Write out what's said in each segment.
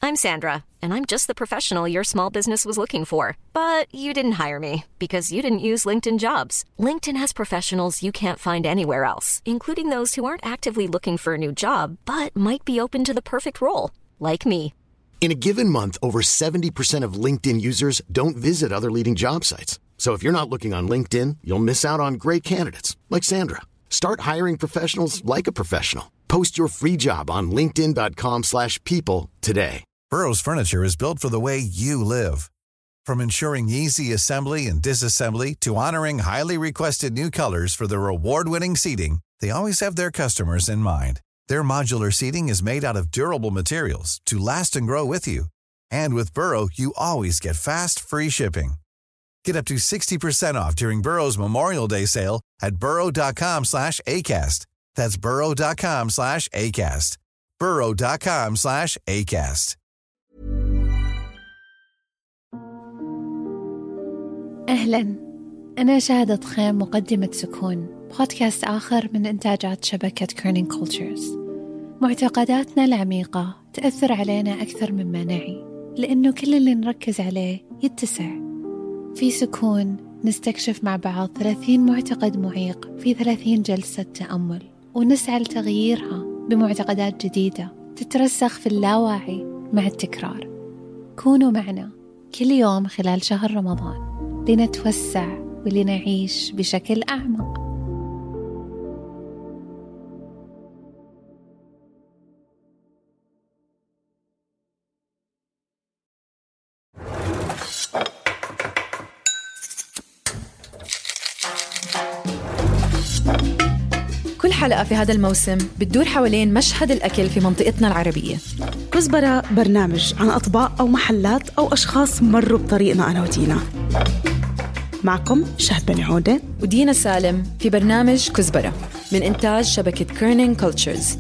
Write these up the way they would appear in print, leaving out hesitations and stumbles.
I'm Sandra, and I'm just the professional your small business was looking for. But you didn't hire me because you didn't use LinkedIn Jobs. LinkedIn has professionals you can't find anywhere else, including those who aren't actively looking for a new job, but might be open to the perfect role, like me. In a given month, over 70% of LinkedIn users don't visit other leading job sites. So if you're not looking on LinkedIn, you'll miss out on great candidates like Sandra. Start hiring professionals like a professional. Post your free job on linkedin.com/people today. Burrow's furniture is built for the way you live. From ensuring easy assembly and disassembly to honoring highly requested new colors for their award-winning seating, they always have their customers in mind. Their modular seating is made out of durable materials to last and grow with you. And with Burrow, you always get fast, free shipping. Get up to 60% off during Burrow's Memorial Day sale at burrow.com/ACAST. That's burrow.com/ACAST. burrow.com/ACAST. أهلاً، أنا شاهدة خيم مقدمة سكون، بودكاست آخر من إنتاجات شبكة كيرنينج كولتشرز. معتقداتنا العميقة تأثر علينا أكثر مما نعي، لأنه كل اللي نركز عليه يتسع. في سكون نستكشف مع بعض 30 معتقد معيق في 30 جلسة تأمل، ونسعى لتغييرها بمعتقدات جديدة تترسخ في اللاواعي مع التكرار. كونوا معنا كل يوم خلال شهر رمضان لنتوسع ولنعيش بشكل أعمق. كل حلقة في هذا الموسم بتدور حوالين مشهد الأكل في منطقتنا العربية. كزبرة برنامج عن أطباق أو محلات أو أشخاص مروا بطريقنا أنا ودينا. معكم شهد بن عودة ودينا سالم في برنامج كزبرة من إنتاج شبكة كيرنينج كولتشرز.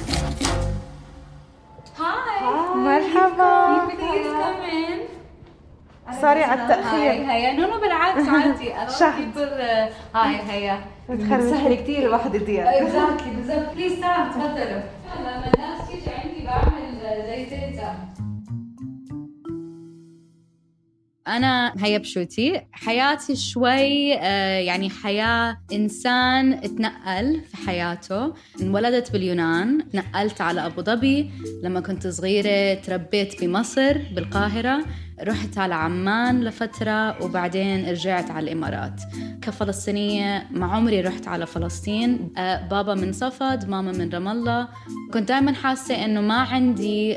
مرحبا. سوري على التأخير. هيا نونو بالعكس عادي. هيا سهل كتير الواحد يضيع. بالضبط بليز تعال تفضلوا. لما الناس تيجي عندي بعمل زي تيتا. أنا هيا بشوتي. حياتي شوي يعني حياة إنسان اتنقل في حياته. انولدت باليونان، نقلت على أبو ظبي لما كنت صغيرة، تربيت بمصر بالقاهرة، رحت على عمان لفترة وبعدين رجعت على الإمارات. كفلسطينية مع عمري رحت على فلسطين، بابا من صفد، ماما من رام الله. كنت دائما حاسة إنه ما عندي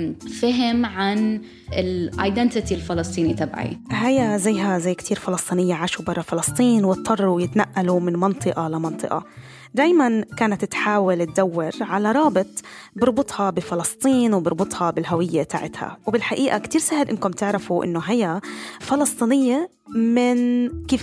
فهم عن الايدنتيتي الفلسطيني تبعي. هيا زيها زي كتير فلسطينية عاشوا برا فلسطين واضطروا يتنقلوا من منطقة لمنطقة. دايما كانت تحاول تدور على رابط بربطها بفلسطين وبربطها بالهوية تاعتها. وبالحقيقة كتير سهل إنكم تعرفوا إنه هي فلسطينية من كيف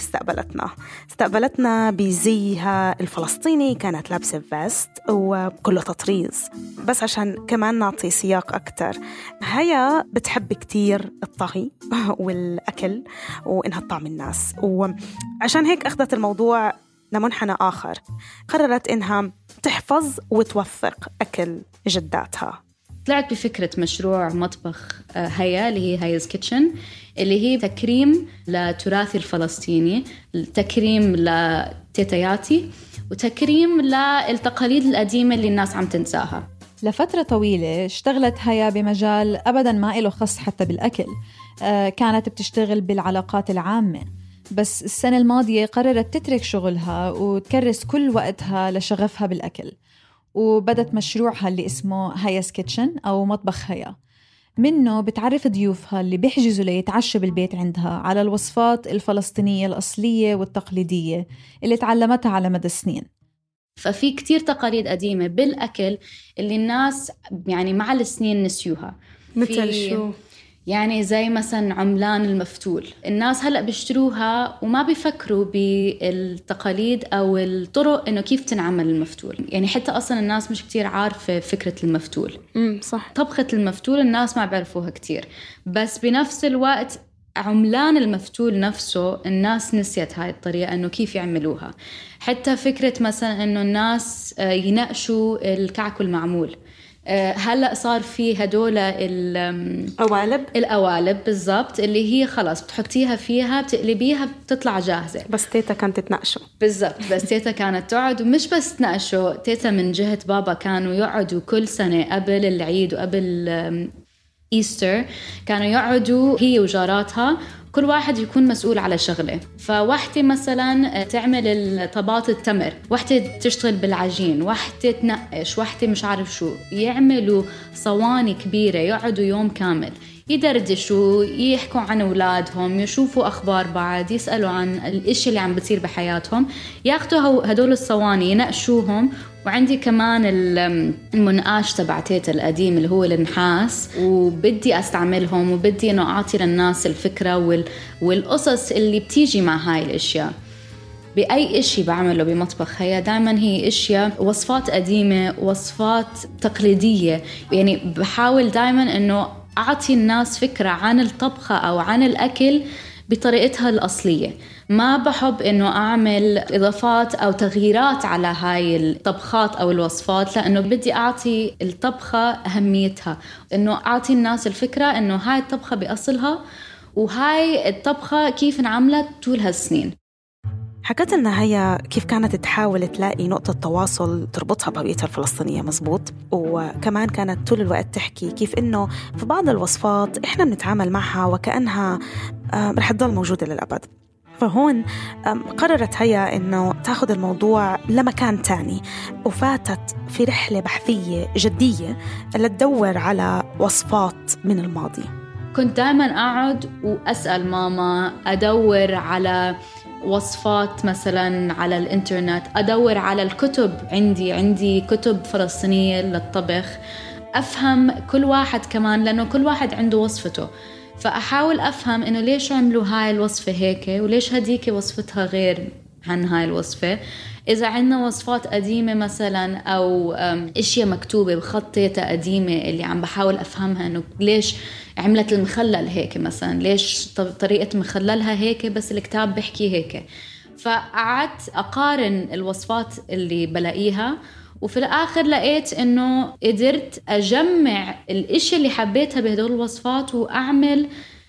استقبلتنا بزيها الفلسطيني. كانت لابسة فيست وكله تطريز. بس عشان كمان نعطي سياق أكتر، هي بتحب كتير الطهي والأكل وإنها تطعم الناس، وعشان هيك أخذت الموضوع لمنحنى آخر. قررت إنها تحفظ وتوثق أكل جداتها. طلعت بفكرة مشروع مطبخ هيا اللي هي هيا's كيتشن، اللي هي تكريم لتراثي الفلسطيني، تكريم لتيتياتي، وتكريم للتقاليد القديمة اللي الناس عم تنساها. لفترة طويلة اشتغلت هيا بمجال أبداً ما إله خص حتى بالأكل. كانت بتشتغل بالعلاقات العامة، بس السنة الماضية قررت تترك شغلها وتكرس كل وقتها لشغفها بالأكل، وبدت مشروعها اللي اسمه هيا's كيتشن أو مطبخ هيا. منه بتعرف ضيوفها اللي بيحجزوا ليتعشوا بالبيت عندها على الوصفات الفلسطينية الأصلية والتقليدية اللي تعلمتها على مدى السنين. ففي كتير تقاليد قديمة بالأكل اللي الناس يعني مع السنين نسيوها. مثل شو؟ يعني زي مثلا عملان المفتول، الناس هلأ بيشتروها وما بيفكروا بالتقاليد أو الطرق إنه كيف تنعمل المفتول. يعني حتى أصلا الناس مش كتير عارفة فكرة المفتول. صح. طبخة المفتول الناس ما بيعرفوها كتير، بس بنفس الوقت عملان المفتول نفسه الناس نسيت هاي الطريقة إنه كيف يعملوها. حتى فكرة مثلا إنه الناس يناقشوا الكعك المعمول، هلأ صار في هدول القوالب بالضبط، اللي هي خلاص بتحطيها فيها بتقلبيها بتطلع جاهزة. بس تيتا كانت تنقشوا. بالضبط، بس تيتا كانت تقعد، ومش بس تنقشوا، تيتا من جهة بابا كانوا يقعدوا كل سنة قبل العيد وقبل إيستر كانوا يقعدوا هي وجاراتها، كل واحد يكون مسؤول على شغله. فواحدة مثلا تعمل طبات التمر، واحدة تشتغل بالعجين، واحدة تنقش، واحدة مش عارف شو، يعملوا صواني كبيرة يقعدوا يوم كامل يدردشوا، يحكوا عن أولادهم، يشوفوا أخبار بعض، يسألوا عن الاشي اللي عم بتصير بحياتهم، ياخدوا هدول الصواني ينقشوهم. وعندي كمان المنقاش تبع تيتا القديم اللي هو النحاس، وبدي أستعملهم وبدي إنه أعطي للناس الفكرة والقصص اللي بتيجي مع هاي الأشياء. بأي إشي بعمله بمطبخ هي دائما هي أشياء وصفات قديمة، وصفات تقليدية. يعني بحاول دائما إنه أعطي الناس فكرة عن الطبخة أو عن الأكل بطريقتها الأصلية. ما بحب إنه أعمل إضافات أو تغييرات على هاي الطبخات أو الوصفات، لأنه بدي أعطي الطبخة أهميتها، إنه أعطي الناس الفكرة إنه هاي الطبخة بأصلها، وهاي الطبخة كيف انعملت طول هالسنين. حكت لنا هي كيف كانت تحاول تلاقي نقطة تواصل تربطها بهويتها الفلسطينية، مزبوط. وكمان كانت طول الوقت تحكي كيف إنه في بعض الوصفات إحنا بنتعامل معها وكأنها رح تضل موجودة للأبد. فهون قررت هي إنه تاخد الموضوع لمكان تاني، وفاتت في رحلة بحثية جدية لتدور على وصفات من الماضي. كنت دائما أقعد وأسأل ماما، أدور على وصفات مثلا على الإنترنت، أدور على الكتب، عندي كتب فلسطينية للطبخ، أفهم كل واحد كمان، لأنه كل واحد عنده وصفته. فأحاول أفهم إنه ليش عملوا هاي الوصفة هيك، وليش هديك وصفتها غير عن هاي الوصفة. إذا عندنا وصفات قديمة مثلا أو إشياء مكتوبة بخطية قديمة اللي عم بحاول أفهمها، إنه ليش عملت المخلل هيك مثلا، ليش طريقة مخللها هيك بس الكتاب بحكي هيك. فقعدت أقارن الوصفات اللي بلاقيها، وفي الآخر لقيت إنه قدرت أجمع الإشي اللي حبيتها بهدول الوصفات وأعمل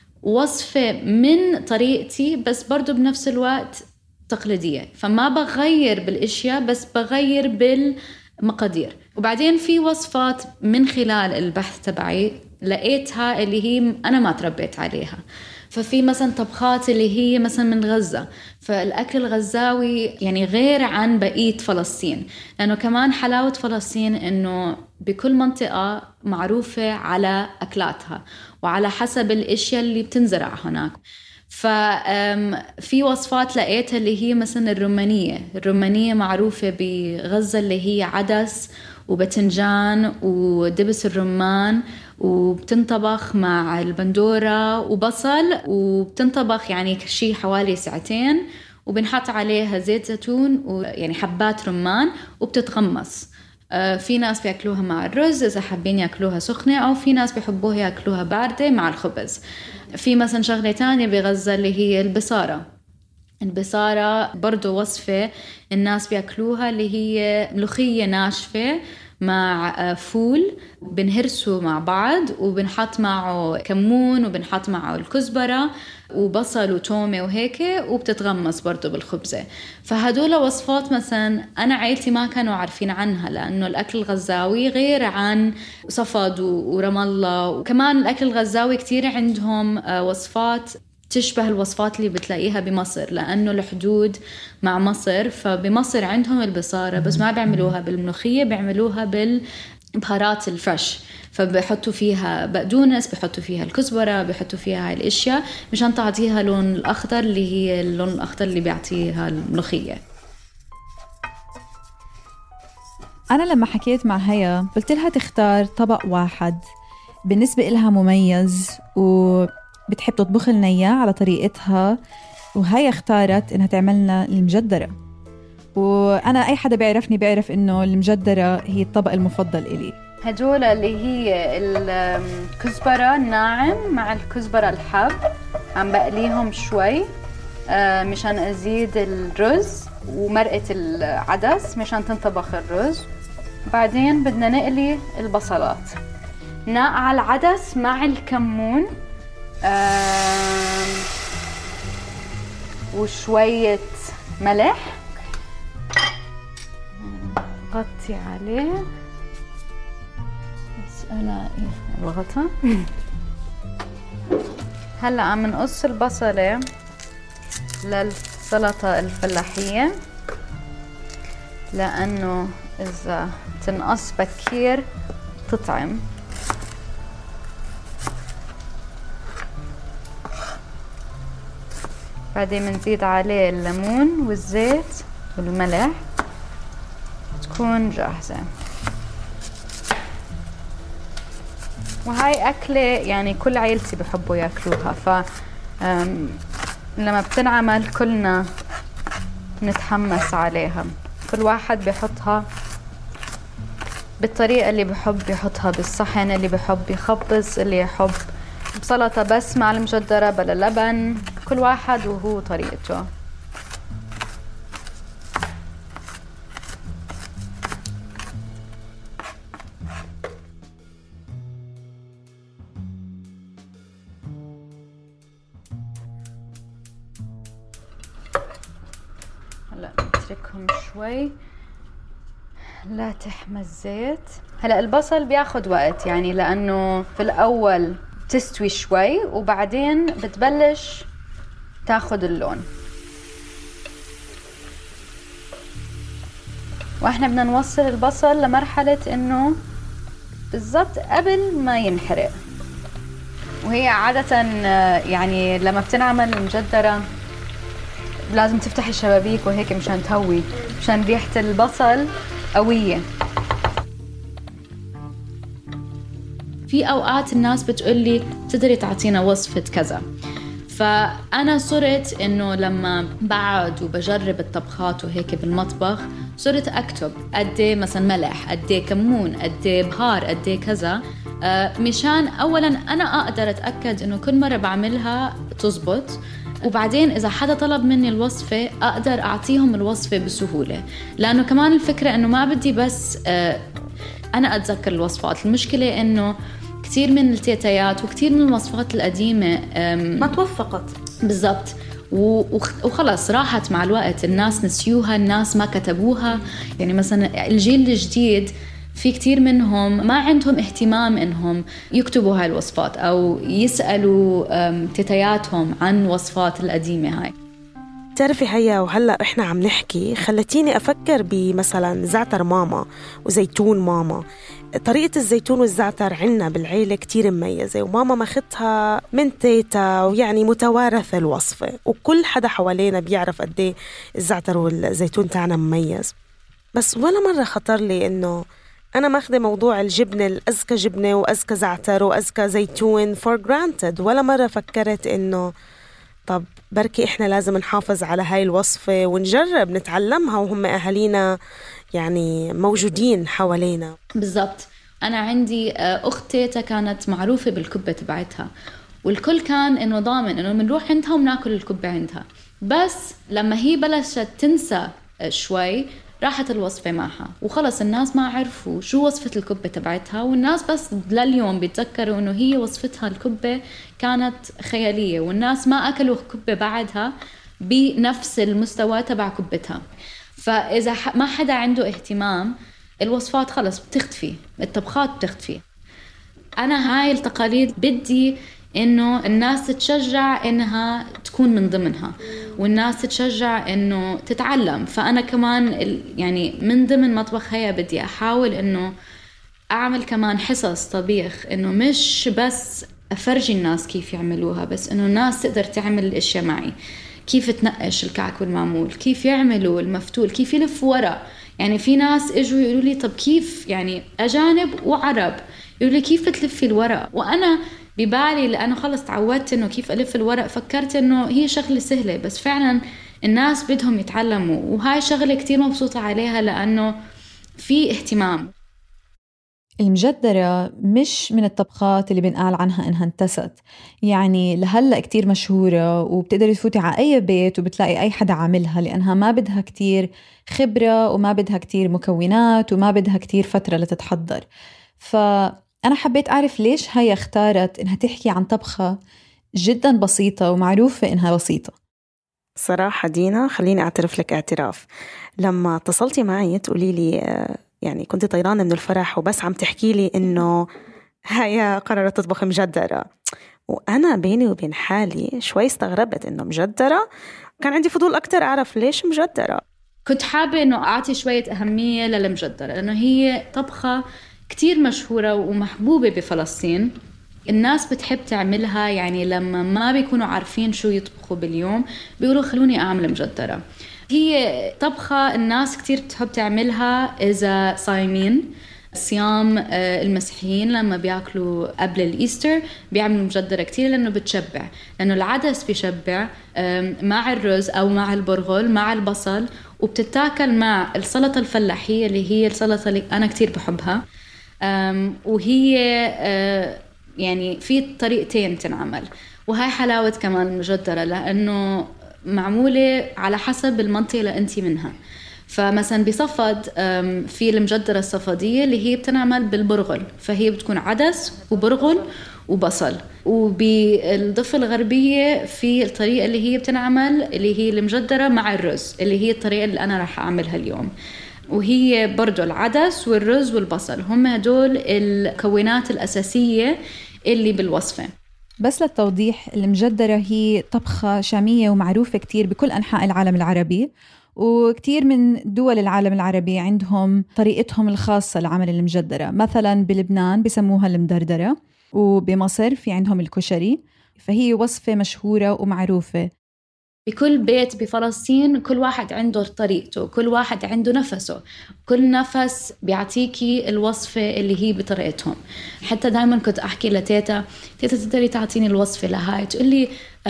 وصفة من طريقتي، بس برضو بنفس الوقت تقليدية. فما بغير بالإشياء بس بغير بالمقادير. وبعدين في وصفات من خلال البحث تبعي لقيتها اللي هي أنا ما تربيت عليها. ففي مثلا طبخات اللي هي مثلا من غزة، فالأكل الغزاوي يعني غير عن بقية فلسطين، لأنه كمان حلاوة فلسطين إنه بكل منطقة معروفة على أكلاتها وعلى حسب الأشياء اللي بتنزرع هناك. ففي وصفات لقيتها اللي هي مثلا الرومانية معروفة بغزة، اللي هي عدس وبتنجان ودبس الرمان، وبتنطبخ مع البندورة وبصل، وبتنطبخ يعني شيء حوالي 2 ساعات، وبنحط عليها زيت زيتون ويعني حبات رمان، وبتتغمس. في ناس بيأكلوها مع الرز إذا حابين يأكلوها سخنة، أو في ناس بيحبوها يأكلوها باردة مع الخبز. في مثلا شغلة تانية بغزة اللي هي البصارة برضو وصفة الناس بيأكلوها، اللي هي ملوخية ناشفة مع فول، بنهرسه مع بعض وبنحط معه كمون وبنحط معه الكزبرة وبصل وتومة وهيك، وبتتغمس برضو بالخبزة. فهدول وصفات مثلا أنا عائلتي ما كانوا عارفين عنها، لأنه الأكل الغزاوي غير عن صفد ورام الله. وكمان الأكل الغزاوي كتير عندهم وصفات تشبه الوصفات اللي بتلاقيها بمصر، لأنه الحدود مع مصر. فبمصر عندهم البصارة بس ما بيعملوها بالملوخية، بيعملوها بالبهارات الفرش، فبيحطوا فيها بقدونس، بيحطوا فيها الكزبرة، بيحطوا فيها هاي الاشياء مشان تعطيها اللون الاخضر، اللي هي اللون الاخضر اللي بيعطيها الملوخية. انا لما حكيت مع هيا قلت لها تختار طبق واحد بالنسبة لها مميز وبتحب تطبخ لنا اياه على طريقتها، وهي اختارت انها تعملنا المجدرة. وانا اي حدا بيعرفني بيعرف انه المجدرة هي الطبق المفضل إلي. هدول اللي هي الكزبرة الناعم مع الكزبرة الحب، عم بقليهم شوي مشان أزيد الرز، ومرقة العدس مشان تنطبخ الرز، بعدين بدنا نقلي البصلات، نقع العدس مع الكمون وشوية ملح، نغطي عليه بس الاقي الغطا. هلا عم نقص البصلة للسلطة الفلاحية، لأنه إذا تنقص بكير تطعم. بعدين بنزيد عليه الليمون والزيت والملح تكون جاهزة. وهاي أكلة يعني كل عيلتي بحبوا ياكلوها، ف لما بتنعمل كلنا نتحمس عليها. كل واحد بيحطها بالطريقة اللي بحب يحطها، بالصحن اللي بحب يخبز، اللي يحب بسلطة بس مع المجدرة بلا لبن، كل واحد وهو طريقته. هلا نتركهم شوي لا تحمى الزيت. هلا البصل بياخد وقت يعني، لأنه في الأول تستوي شوي وبعدين بتبلش تاخد اللون. واحنا بدنا نوصل البصل لمرحلة انه بالضبط قبل ما ينحرق. وهي عادة يعني لما بتنعمل المجدرة لازم تفتح الشبابيك وهيك مشان تهوي، مشان ريحة البصل قوية. في أوقات الناس بتقولي تقدري تعطينا وصفة كذا، فأنا صرت إنه لما بقعد وبجرب الطبخات وهيك بالمطبخ صرت أكتب قدي مثلا ملح، قدي كمون، قدي بهار، قدي كذا، مشان أولا أنا أقدر أتأكد إنه كل مرة بعملها تزبط، وبعدين إذا حدا طلب مني الوصفة أقدر أعطيهم الوصفة بسهولة. لأنه كمان الفكرة إنه ما بدي بس أنا أتذكر الوصفات، المشكلة إنه كتير من التيتايات وكتير من الوصفات القديمة ما توفقت بالضبط، وخلص راحت مع الوقت، الناس نسيوها، الناس ما كتبوها. يعني مثلا الجيل الجديد في كتير منهم ما عندهم اهتمام إنهم يكتبوا هاي الوصفات أو يسألوا تيتاياتهم عن وصفات القديمة هاي. تعرفي هيا، وهلأ إحنا عم نحكي خلتيني أفكر بمثلا زعتر ماما وزيتون ماما. طريقة الزيتون والزعتر عنا بالعيلة كتير مميزة، وماما ماخدها من تيتا، ويعني متوارثة الوصفة، وكل حدا حوالينا بيعرف قديه الزعتر والزيتون تاعنا مميز. بس ولا مرة خطر لي إنه أنا ماخذة موضوع الجبنة، الأزكى جبنة وأزكى زعتر وأزكى زيتون for granted. ولا مرة فكرت إنه طب بركي إحنا لازم نحافظ على هاي الوصفة ونجرب نتعلمها وهم أهالينا يعني موجودين حوالينا. بالضبط. أنا عندي أختي كانت معروفة بالكبة تبعتها، والكل كان إنه ضامن إنه منروح عندها ومناكل الكبة عندها. بس لما هي بلشت تنسى شوي راحت الوصفة معها، وخلص الناس ما عرفوا شو وصفة الكبة تبعتها، والناس بس لليوم بيتذكروا إنه هي وصفتها الكبة كانت خيالية، والناس ما أكلوا كبة بعدها بنفس المستوى تبع كبتها. فإذا ما حدا عنده اهتمام الوصفات خلص بتختفي، الطبخات بتختفي. أنا هاي التقاليد بدي إنه الناس تتشجع إنها تكون من ضمنها، والناس تتشجع إنه تتعلم. فأنا كمان يعني من ضمن مطبخ هيا بدي أحاول إنه أعمل كمان حصص طبيخ، إنه مش بس أفرجي الناس كيف يعملوها، بس إنه الناس تقدر تعمل الأشياء معي، كيف تنقش الكعك والمعمول، كيف يعملوا المفتول، كيف يلفوا ورق. يعني في ناس اجوا يقولوا لي طب كيف، يعني أجانب وعرب يقولوا لي كيف تلفي الورق، وأنا ببالي لأنه خلص تعودت إنه كيف ألف الورق فكرت إنه هي شغلة سهلة، بس فعلا الناس بدهم يتعلموا، وهاي شغلة كتير مبسوطة عليها لأنه في اهتمام. المجدرة مش من الطبخات اللي بنقال عنها إنها انتست، يعني لهلأ كتير مشهورة وبتقدري تفوتي على أي بيت وبتلاقي أي حدا عاملها، لأنها ما بدها كتير خبرة وما بدها كتير مكونات وما بدها كتير فترة لتتحضر. فأنا حبيت أعرف ليش هي اختارت إنها تحكي عن طبخة جدا بسيطة ومعروفة إنها بسيطة. صراحة دينا، خليني أعترف لك اعتراف. لما اتصلتي معي تقولي لي يعني كنت طيرانة من الفرح وبس عم تحكي لي إنه هي قررت تطبخ مجدرة، وأنا بيني وبين حالي شوي استغربت إنه مجدرة. كان عندي فضول أكتر أعرف ليش مجدرة. كنت حابة إنه أعطي شوية أهمية للمجدرة لأنه هي طبخة كتير مشهورة ومحبوبة بفلسطين. الناس بتحب تعملها، يعني لما ما بيكونوا عارفين شو يطبخوا باليوم بيقولوا خلوني أعمل مجدرة. هي طبخة الناس كتير بتحب تعملها إذا صايمين، صيام المسيحيين لما بياكلوا قبل الإيستر بيعملوا مجدرة كتير لأنه بتشبع، لأنه العدس بيشبع مع الرز أو مع البرغل مع البصل، وبتتاكل مع السلطة الفلاحية اللي هي السلطة اللي أنا كتير بحبها. وهي يعني في طريقتين تنعمل، وهي حلاوة كمان المجدرة لأنه معمولة على حسب المنطقة اللي أنتي منها. فمثلا بصفد في المجدرة الصفدية اللي هي بتنعمل بالبرغل، فهي بتكون عدس وبرغل وبصل. وبالضفة الغربية في الطريقة اللي هي بتنعمل اللي هي المجدرة مع الرز، اللي هي الطريقة اللي أنا راح أعملها اليوم، وهي برضو العدس والرز والبصل هم هدول المكونات الأساسية اللي بالوصفة. بس للتوضيح، المجدرة هي طبخة شامية ومعروفة كتير بكل أنحاء العالم العربي، وكتير من دول العالم العربي عندهم طريقتهم الخاصة لعمل المجدرة. مثلا بلبنان بسموها المدردرة، وبمصر في عندهم الكشري، فهي وصفة مشهورة ومعروفة. بكل بيت بفلسطين كل واحد عنده طريقته، كل واحد عنده نفسه، كل نفس بيعطيكي الوصفة اللي هي بطريقتهم. حتى دايما كنت أحكي لتيتا تقدري تعطيني الوصفة لهاي، تقولي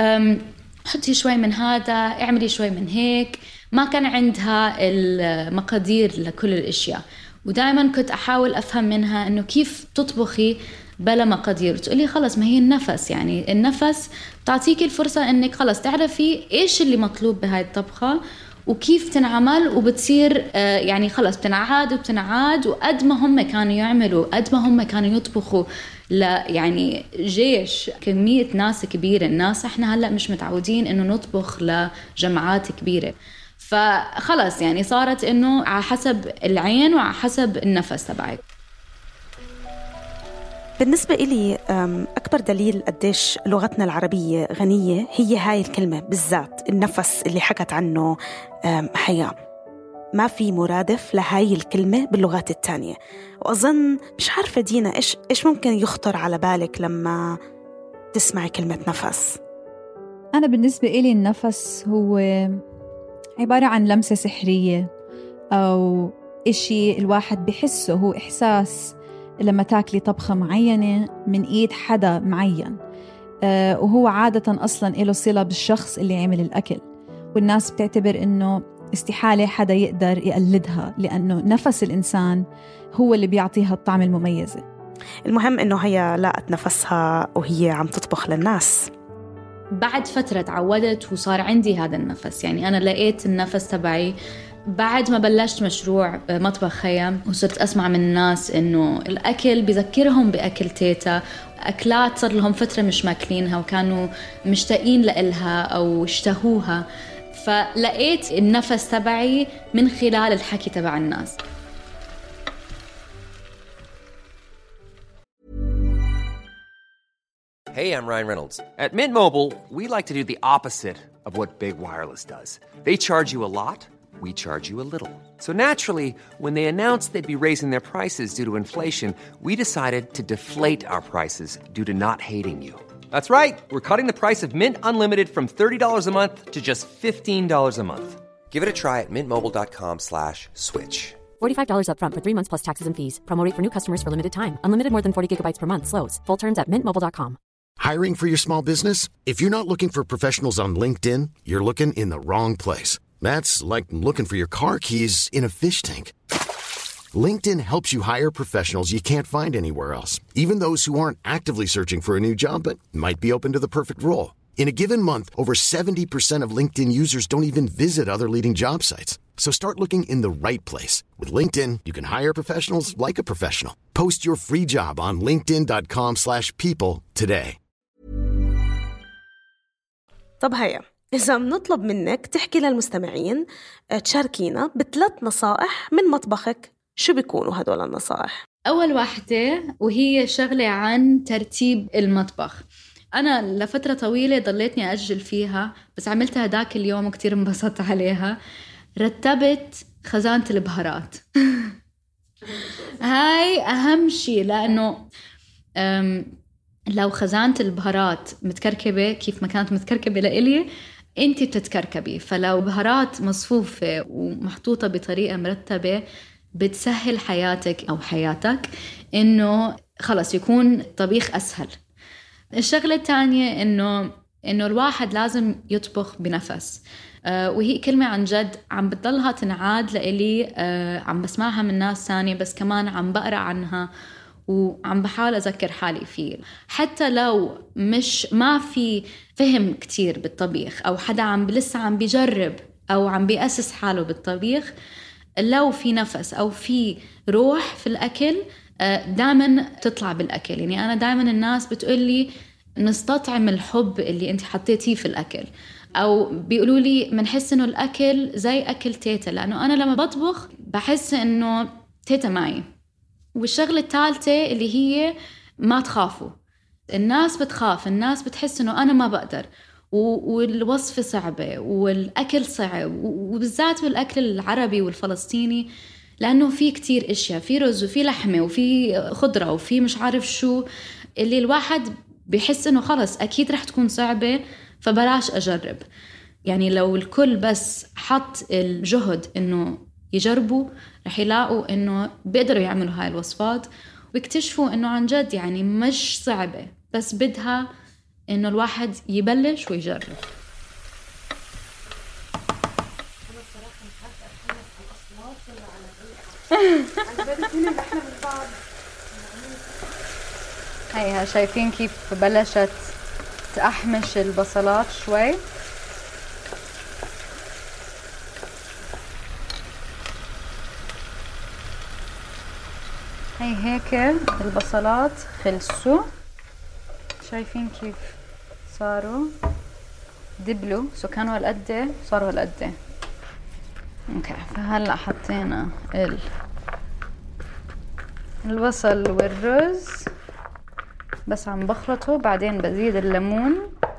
حطي شوي من هذا، اعملي شوي من هيك. ما كان عندها المقادير لكل الأشياء، ودايما كنت أحاول أفهم منها إنه كيف تطبخي بلا مقادير. تقولي خلص ما هي النفس، يعني النفس تعطيكي الفرصة إنك خلص تعرفي إيش اللي مطلوب بهاي الطبخة وكيف تنعمل، وبتصير يعني خلص بتنعاد وبتنعاد. وقد ما هم كانوا يعملوا، قد ما هم كانوا يطبخوا يعني جيش، كمية ناس كبيرة. الناس احنا هلأ مش متعودين إنه نطبخ لجماعات كبيرة، فخلص يعني صارت إنه على حسب العين وعلى حسب النفس تبعك. بالنسبة إلي أكبر دليل قديش لغتنا العربية غنية هي هاي الكلمة بالذات، النفس اللي حكت عنه حياة. ما في مرادف لهاي الكلمة باللغات التانية. وأظن مش عارفة دينا إيش ممكن يخطر على بالك لما تسمعي كلمة نفس؟ أنا بالنسبة إلي النفس هو عبارة عن لمسة سحرية أو إشي الواحد بحسه، هو إحساس لما تاكلي طبخة معينة من إيد حدا معين، وهو عادة أصلاً إله صلة بالشخص اللي عمل الأكل، والناس بتعتبر إنه استحالة حدا يقدر يقلدها لأنه نفس الإنسان هو اللي بيعطيها الطعم المميزة. المهم إنه هي لاقت نفسها وهي عم تطبخ للناس. بعد فترة تعودت وصار عندي هذا النفس، يعني أنا لقيت النفس تبعي بعد ما بلشت مشروع مطبخ خيام، وصرت أسمع من الناس إنه الأكل بذكرهم بأكل تيتا، أكلات صار لهم فترة مش ماكلينها وكانوا مشتاقين لإلها أو اشتهوها. فلقيت النفس تبعي من خلال الحكي تبع الناس. Hey, I'm Ryan Reynolds. At Mint Mobile, we like to do the opposite of what Big Wireless does. They charge you a lot, we charge you a little. So naturally, when they announced they'd be raising their prices due to inflation, we decided to deflate our prices due to not hating you. That's right. We're cutting the price of Mint Unlimited from $30 a month to just $15 a month. Give it a try at mintmobile.com/switch. $45 up front for 3 months plus taxes and fees. Promo rate for new customers for limited time. Unlimited more than 40 gigabytes per month. Slows full terms at mintmobile.com. Hiring for your small business? If you're not looking for professionals on LinkedIn, you're looking in the wrong place. That's like looking for your car keys in a fish tank. LinkedIn helps you hire professionals you can't find anywhere else, even those who aren't actively searching for a new job but might be open to the perfect role. In a given month, over 70% of LinkedIn users don't even visit other leading job sites. So start looking in the right place. With LinkedIn, you can hire professionals like a professional. Post your free job on linkedin.com/people today. طب هيا إذا بنطلب منك تحكي للمستمعين تشاركينا ب3 نصائح من مطبخك، شو بيكونوا هدول النصائح؟ أول واحدة وهي شغلة عن ترتيب المطبخ. أنا لفترة طويلة ضليتني أجل فيها، بس عملتها داك اليوم وكتير انبسطت عليها. رتبت خزانة البهارات. هاي أهم شيء، لأنه لو خزانة البهارات متكركبة كيف ما كانت متكركبة لإلي، أنتي بتتكركبي. فلو بهارات مصفوفة ومحطوطة بطريقة مرتبة بتسهل حياتك أو حياتك، إنه خلص يكون طبيخ أسهل. الشغلة الثانية إنه الواحد لازم يطبخ بنفس، وهي كلمة عن جد عم بتضلها تنعاد لإلي، عم بسمعها من ناس ثانية، بس كمان عم بقرأ عنها وعم بحاول أذكر حالي فيه. حتى لو ما في فهم كتير بالطبيخ، أو حدا لسه عم بيجرب أو عم بيأسس حاله بالطبيخ، لو في نفس أو في روح في الأكل دائما تطلع بالأكل. يعني أنا دائما الناس بتقولي نستطعم الحب اللي أنت حطيتيه في الأكل، أو بيقولوا لي منحس إنه الأكل زي أكل تيتا، لأنه أنا لما بطبخ بحس إنه تيتا معي. والشغلة الثالثة اللي هي ما تخافوا. الناس بتخاف، الناس بتحس إنه أنا ما بقدر، والوصفة صعبة والأكل صعب، وبالذات بالأكل العربي والفلسطيني، لأنه في كتير إشياء، في رز وفي لحمة وفي خضرة وفي مش عارف شو، اللي الواحد بيحس إنه خلص أكيد رح تكون صعبة فبلاش أجرب. يعني لو الكل بس حط الجهد إنه يجربوا، رح يلاقوا إنه بيقدروا يعملوا هاي الوصفات، ويكتشفوا إنه عن جد يعني مش صعبة، بس بدها إنه الواحد يبلش ويجرب. هيها شايفين كيف بلشت تأحمش البصلات شوي. هي هيك البصلات خلصوا، شايفين كيف صاروا دبلوا، سو كانوا هالقد صاروا هالقد. اوكي، فهلا حطينا البصل والرز، بس عم بخلطه، بعدين بزيد الليمون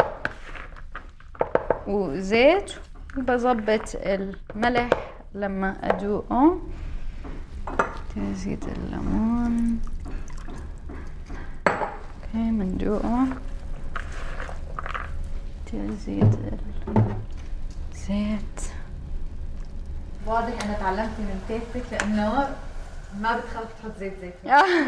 وزيت، وبظبط الملح لما ادوقه. تزيد الليمون، اوكي مندوقه، تزيد الزيت. واضح انا تعلمت من تيتك لانه ما بتخاف تحط زيت زيتون.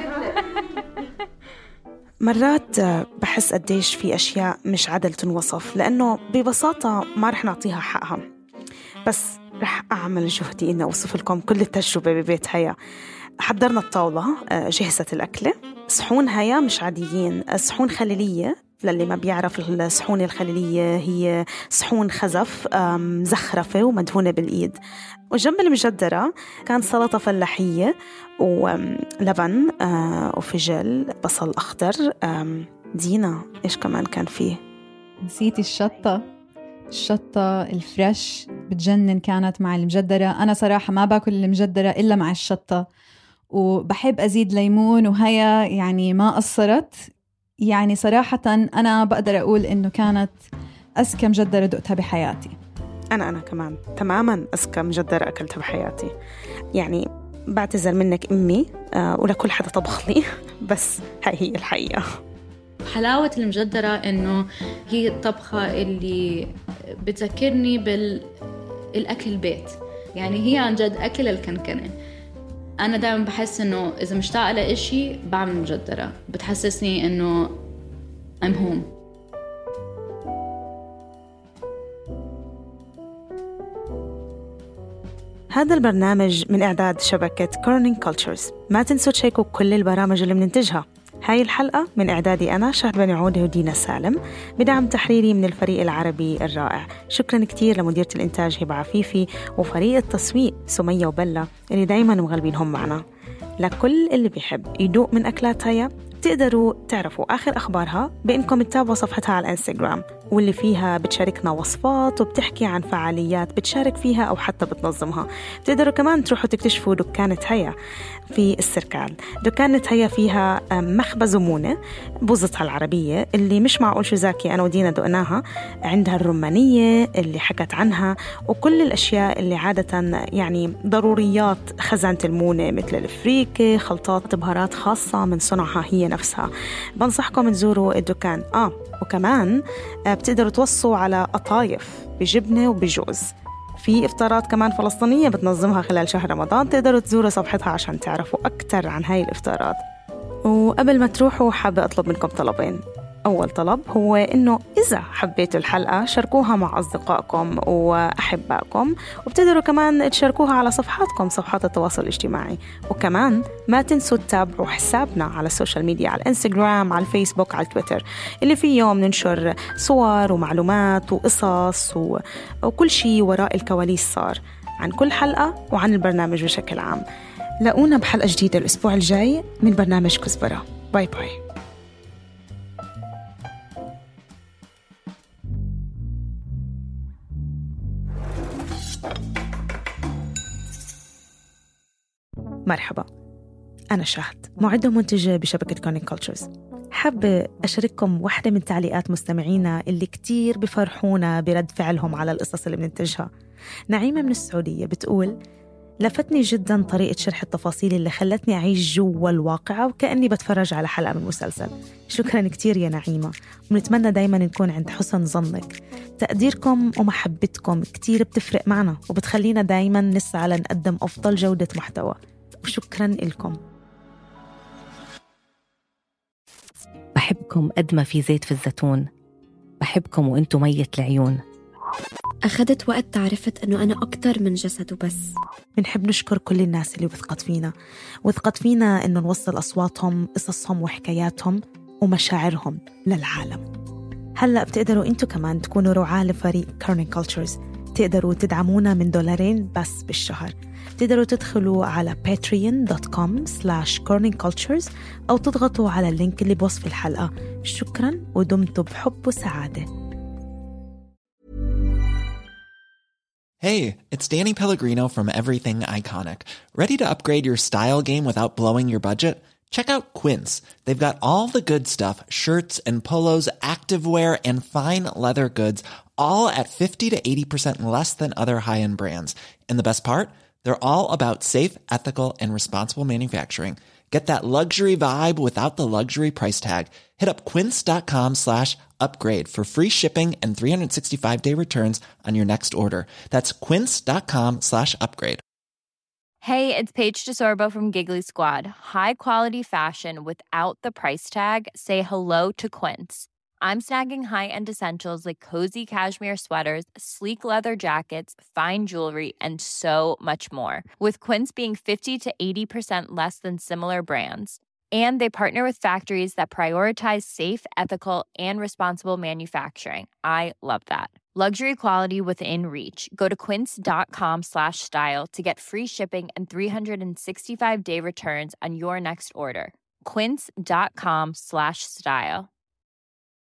مرات بحس قديش في أشياء مش عدل تنوصف، لأنه ببساطة ما رح نعطيها حقها، بس رح أعمل جهدي إني أوصف لكم كل التجربة ببيت هيا. حضرنا الطاولة، جهزت الأكلة. صحون هيا مش عاديين، صحون خليلية. للي ما بيعرف الصحون الخليلية هي صحون خزف مزخرفة ومدهونة بالإيد. وجنب المجدرة كان سلطة فلاحية ولبن وفجل بصل أخضر. دينا إيش كمان كان فيه؟ نسيتي الشطة الفريش بتجنن كانت مع المجدرة. أنا صراحة ما باكل المجدرة إلا مع الشطة، وبحب أزيد ليمون، وهيا يعني ما قصرت. يعني صراحة أنا بقدر أقول إنه كانت أذكى مجدرة دقتها بحياتي. أنا كمان تماماً أذكى مجدرة أكلتها بحياتي. يعني بعتذر منك أمي ولكل حدا طبخ لي، بس هاي هي الحقيقة. حلاوة المجدرة إنه هي الطبخة اللي بتذكرني بالأكل البيت. يعني هي عن جد أكل الكنكنة. أنا دائما بحس إنه إذا مشتاقة لإشي بعمل مجدرة، بتحسسني إنه I'm home. هذا البرنامج من إعداد شبكة كورنينج كولتشرز. ما تنسوا تشيكوا كل البرامج اللي بننتجها. هاي الحلقة من إعدادي أنا شهد بن عودة ودينا سالم، بدعم تحريري من الفريق العربي الرائع. شكرا كتير لمديرة الإنتاج هبة عفيفي وفريق التسويق سمية وبلا اللي دايما مغلبينهم معنا. لكل اللي بيحب يدوق من أكلات هيا تقدروا تعرفوا آخر أخبارها بإنكم تتابعوا صفحتها على الإنستغرام، واللي فيها بتشاركنا وصفات وبتحكي عن فعاليات بتشارك فيها أو حتى بتنظمها. تقدروا كمان تروحوا تكتشفوا دكانة هيا في السركال. دكانة هيا فيها مخبز ومونة بوزتها العربية اللي مش معقول شو زاكي أنا ودينا دقناها. عندها الرمانية اللي حكت عنها وكل الأشياء اللي عادة يعني ضروريات خزانة المونة، مثل الفريكة، خلطات بهارات خاصة من صنعها هي نفسها. بنصحكم تزوروا الدكان. وكمان بتقدروا توصوا على قطايف بجبنة وبجوز. في إفطارات كمان فلسطينية بتنظمها خلال شهر رمضان، تقدروا تزوروا صفحتها عشان تعرفوا أكتر عن هاي الإفطارات. وقبل ما تروحوا حابة أطلب منكم طلبين. أول طلب هو إنه إذا حبيتوا الحلقة شاركوها مع أصدقائكم وأحبائكم، وبتقدروا كمان تشاركوها على صفحاتكم، صفحات التواصل الاجتماعي. وكمان ما تنسوا تتابعوا حسابنا على السوشيال ميديا، على الانستغرام، على الفيسبوك، على التويتر، اللي فيه يوم ننشر صور ومعلومات وقصص وكل شيء وراء الكواليس صار عن كل حلقة وعن البرنامج بشكل عام. لاقونا بحلقة جديدة الأسبوع الجاي من برنامج كزبرة. باي باي. مرحبا، أنا شهد، معدة ومنتجة بشبكة كورنينج كولتشرز. حابة أشارككم واحدة من تعليقات مستمعينا اللي كتير بفرحونا برد فعلهم على القصص اللي بننتجها. نعيمة من السعودية بتقول: لفتني جدا طريقة شرح التفاصيل اللي خلتني أعيش جوا الواقعة وكأني بتفرج على حلقة من مسلسل. شكرا كتير يا نعيمة، ونتمنى دايما نكون عند حسن ظنك. تقديركم ومحبتكم كتير بتفرق معنا وبتخلينا دايما نسعى لنقدم أفضل جودة محتوى، وشكرا لكم. بحبكم قد ما في زيت في الزيتون، بحبكم وانتم مية العيون. أخذت وقت تعرفت أنه أنا أكتر من جسد وبس. بنحب نشكر كل الناس اللي وثقت فينا إنه نوصل أصواتهم، قصصهم وحكاياتهم ومشاعرهم للعالم. هلأ بتقدروا أنتوا كمان تكونوا رعاة لفريق كورنينج كولتشرز. تقدروا تدعمونا من $2 بس بالشهر. تقدروا تدخلوا على patreon.com/corningcultures أو تضغطوا على اللينك اللي بوصف الحلقة. شكرا ودمتم بحب وسعادة. Hey, it's Danny Pellegrino from Everything Iconic. Ready to upgrade your style game without blowing your budget? Check out Quince. They've got all the good stuff, shirts and polos, activewear and fine leather goods, all at 50 to 80% less than other high-end brands. And the best part? They're all about safe, ethical, and responsible manufacturing. Get that luxury vibe without the luxury price tag. Hit up quince.com/upgrade for free shipping and 365-day returns on your next order. That's quince.com/upgrade. Hey, it's Paige DeSorbo from Giggly Squad. High quality fashion without the price tag. Say hello to Quince. I'm snagging high-end essentials like cozy cashmere sweaters, sleek leather jackets, fine jewelry, and so much more. With Quince being 50 to 80% less than similar brands. And they partner with factories that prioritize safe, ethical, and responsible manufacturing. I love that. Luxury quality within reach. Go to quince.com/style to get free shipping and 365-day returns on your next order. Quince.com/style.